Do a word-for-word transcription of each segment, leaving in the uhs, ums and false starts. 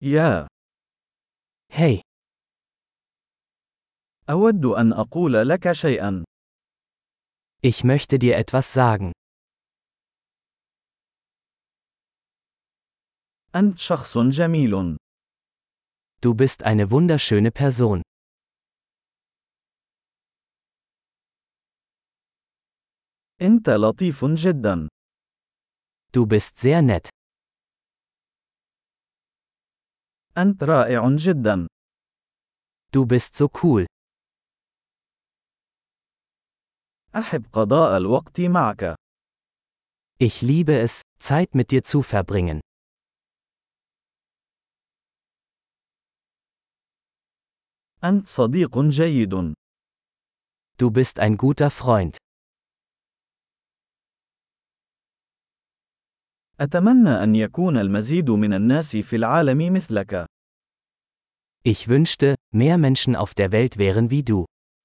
يا. Hey, أود أن أقول لك شيئا. ich möchte dir etwas sagen. أنت شخص جميل. Du bist eine wunderschöne Person. أنت لطيف جدا. Du bist sehr nett. أنت رائع جدا. Du bist so cool. أحب قضاء الوقت معك. Ich liebe es, Zeit mit dir zu verbringen. أنت صديق جيد. Du bist ein guter Freund. أتمنى أن يكون المزيد من الناس في العالم مثلك. Ich wünschte, mehr Menschen auf der Welt wären wie du.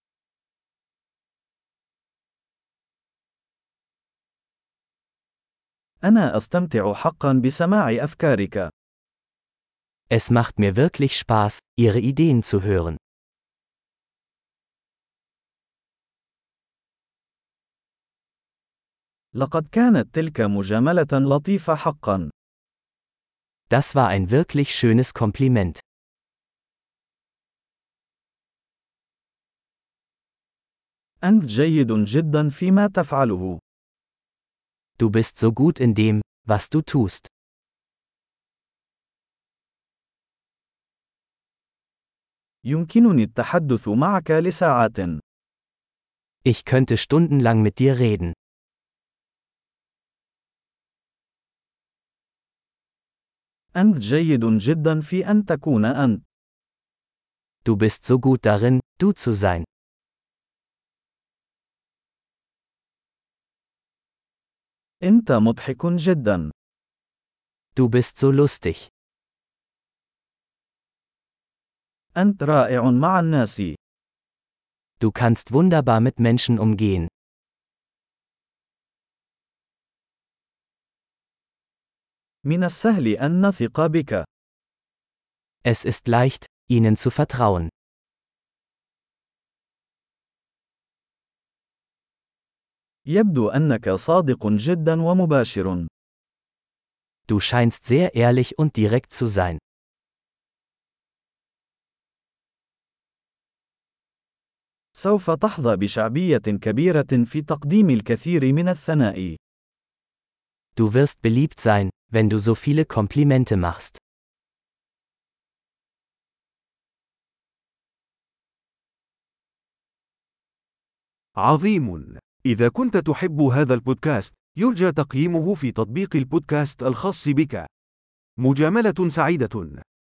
أنا أستمتع حقا بسماع أفكارك. Es macht mir wirklich Spaß, ihre Ideen zu hören. لقد كانت تلك مجاملة لطيفة حقا. Das war ein wirklich schönes Kompliment. أنت جيد جدا فيما تفعله. Du bist so gut in dem, was du tust. يمكنني التحدث معك لساعات. Ich könnte stundenlang mit dir reden. أنت جيد جدا في أن تكون أنت. Du bist so gut darin, du zu sein. أنت مضحك جدا. Du bist so lustig. أنت رائع مع الناس. Du kannst wunderbar mit Menschen umgehen. من السهل أن نثق بك. Es ist leicht, ihnen zu vertrauen. يبدو أنك صادق جدا ومباشر. Du scheinst sehr ehrlich und direkt zu sein. سوف تحظى بشعبية كبيرة في تقديم الكثير من الثناء. Du wirst beliebt sein, wenn du so viele Komplimente machst. عظيم. إذا كنت تحب هذا البودكاست، يرجى تقييمه في تطبيق البودكاست الخاص بك. مجاملة سعيدة.